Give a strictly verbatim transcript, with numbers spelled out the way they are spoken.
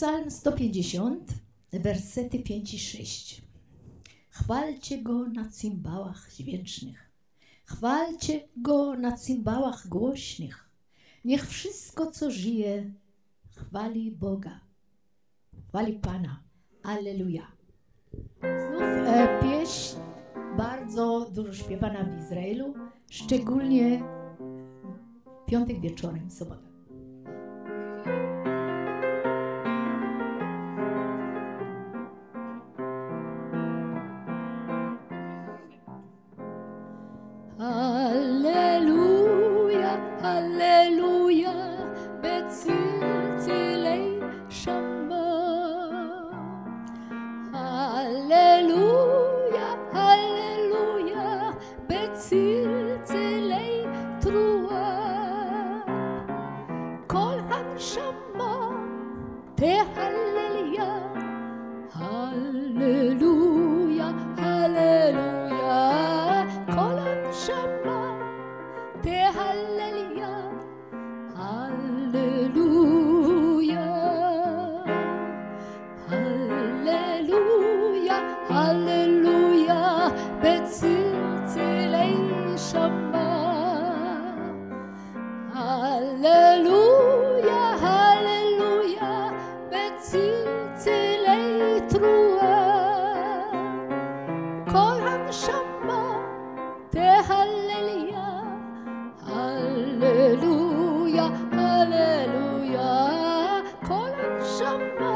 Psalm sto pięćdziesiąt, wersety pięć i sześć. Chwalcie Go na cymbałach dźwięcznych. Chwalcie Go na cymbałach głośnych. Niech wszystko, co żyje, chwali Boga. Chwali Pana. Alleluja. Znów e, pieśń bardzo dużo śpiewana w Izraelu, szczególnie piątek wieczorem, sobota. Halleluja, halleluja, bezilzelei Shama. Halleluja, halleluja, bezilzelei Trua. Kol hanshama, tehallelja. Halleluja, halleluja, kol hanshama, tehallelja. Halleluja, halleluja, halleluja, bezilzelei Shama. Halleluja, halleluja, bezilzelei Trua. Kol hanshama, tehallelja. Halleluja, halleluja, kol hanshama,